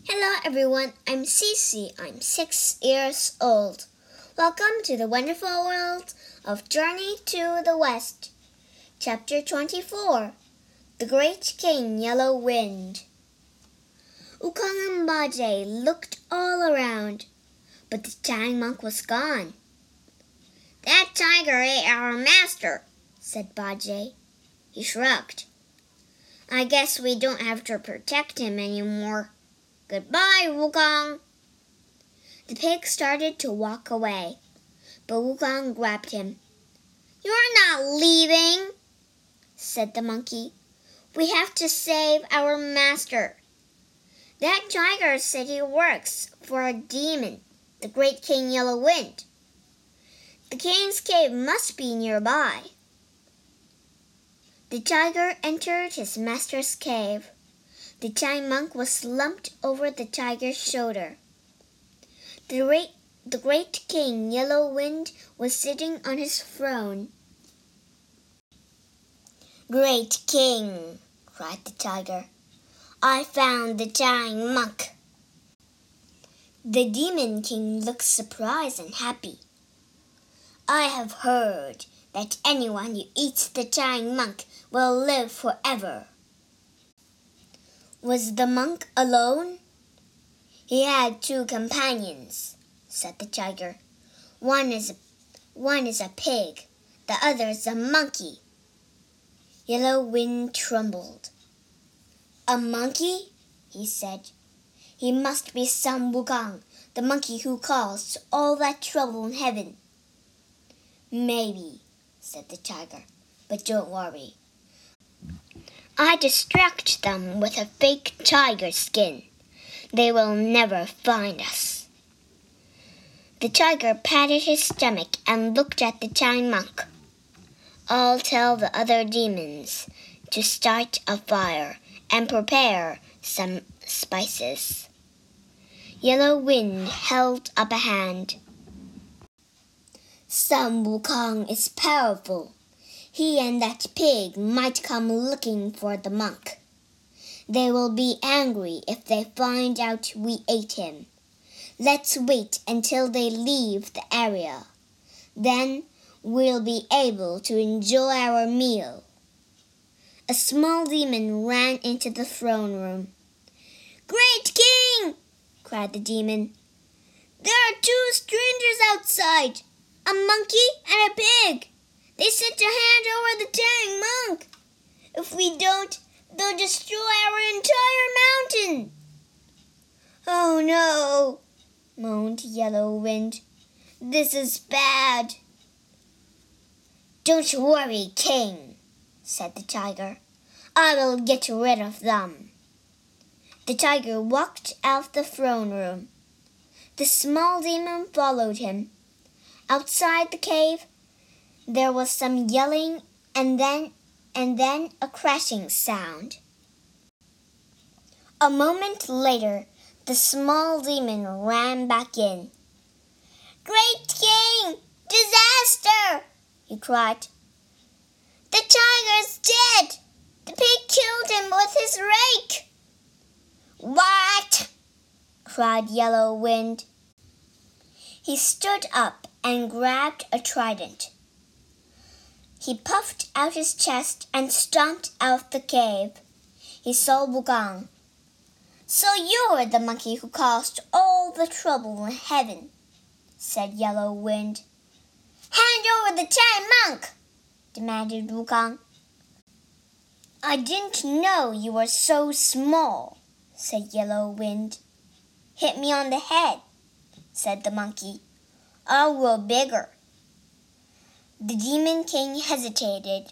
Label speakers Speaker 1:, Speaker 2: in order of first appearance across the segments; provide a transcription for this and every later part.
Speaker 1: Hello everyone, I'm Cece. I'm 6 years old. Welcome to the wonderful world of Journey to the West. Chapter 24, The Great King Yellow Wind. Wukong and Bajie looked all around, but the giant monk was gone. That tiger ate our master, said Bajie. He shrugged. I guess we don't have to protect him anymore. Goodbye, Wukong. The pig started to walk away, but Wukong grabbed him. You're not leaving, said the monkey. We have to save our master. That tiger said he works for a demon, the Great King Yellow Wind. The king's cave must be nearby. The tiger entered his master's cave. The giant monk was slumped over the tiger's shoulder. The great king, Yellow Wind, was sitting on his throne. Great king, cried the tiger, I found the giant monk. The demon king looked surprised and happy. I have heard that anyone who eats the giant monk will live forever. Was the monk alone? He had 2 companions, said the tiger. One is a pig, the other is a monkey. Yellow Wind trembled. A monkey? He said. He must be some Wukong, the monkey who caused all that trouble in heaven. Maybe, said the tiger, but don't worry. I distract them with a fake tiger skin. They will never find us. The tiger patted his stomach and looked at the giant monk. I'll tell the other demons to start a fire and prepare some spices. Yellow Wind held up a hand. Some Wukong is powerful. He and that pig might come looking for the monk. They will be angry if they find out we ate him. Let's wait until they leave the area. Then we'll be able to enjoy our meal. A small demon ran into the throne room. Great king! cried the demon. There are 2 strangers outside, a monkey and a pig. They said to hand over the giant monk. If we don't, they'll destroy our entire mountain. Oh no, moaned Yellow Wind. This is bad. Don't worry, king, said the tiger. I will get rid of them. The tiger walked out the throne room. The small demon followed him. Outside the cave, there was some yelling and then a crashing sound. A moment later, the small demon ran back in. Great king! Disaster! he cried. The tiger's dead! The pig killed him with his rake! What? cried Yellow Wind. He stood up and grabbed a trident. He puffed out his chest and stomped out the cave. He saw Wukong. So you're the monkey who caused all the trouble in heaven, said Yellow Wind. Hand over the giant monk, demanded Wukong. I didn't know you were so small, said Yellow Wind. Hit me on the head, said the monkey. I'll grow bigger. The demon king hesitated.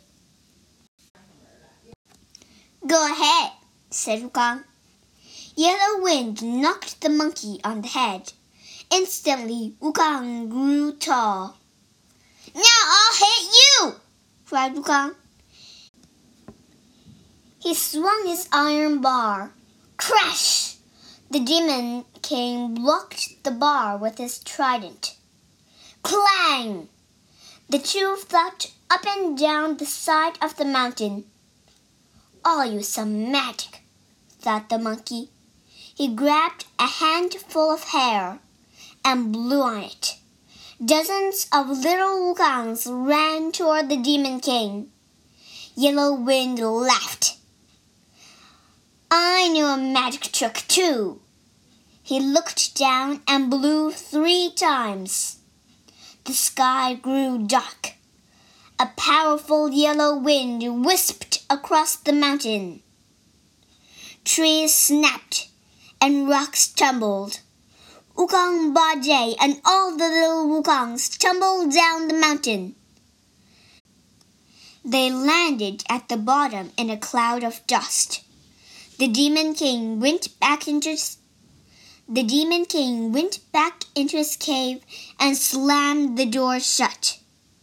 Speaker 1: Go ahead, said Wukong. Yellow Wind knocked the monkey on the head. Instantly, Wukong grew tall. Now I'll hit you, cried Wukong. He swung his iron bar. Crash! The demon king blocked the bar with his trident. Clang! The 2 flopped up and down the side of the mountain. I'll use some magic, thought the monkey. He grabbed a handful of hair and blew on it. Dozens of little wukongs ran toward the Demon King. Yellow Wind laughed. I knew a magic trick too. He looked down and blew 3 times. The sky grew dark. A powerful yellow wind whisked across the mountain. Trees snapped and rocks tumbled. Wukong Bajie and all the little wukongs tumbled down the mountain. They landed at the bottom in a cloud of dust. The Demon King went back into his cave and slammed the door shut.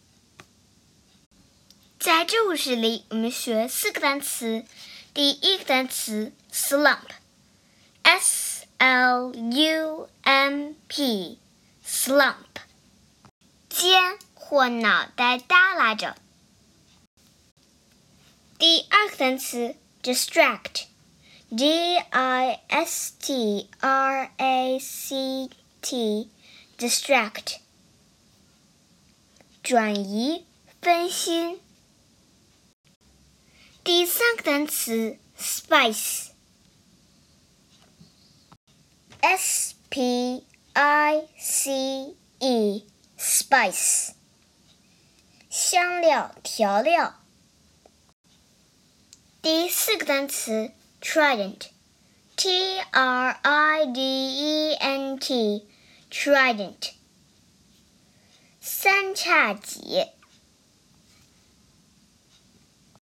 Speaker 1: 在这故事里，我们学4个单词。第一个单词 slump， S-L-U-M-P， slump， 肩或脑袋耷拉着。第二个单词 distract， D-I-S-T-R-A-C-T， distract， 转移分心。第三个单词 spice， S-P-I-C-E， spice， 香料调料。第四个单词 trident， T-R-I-D-E-N-T， trident， 三叉戟。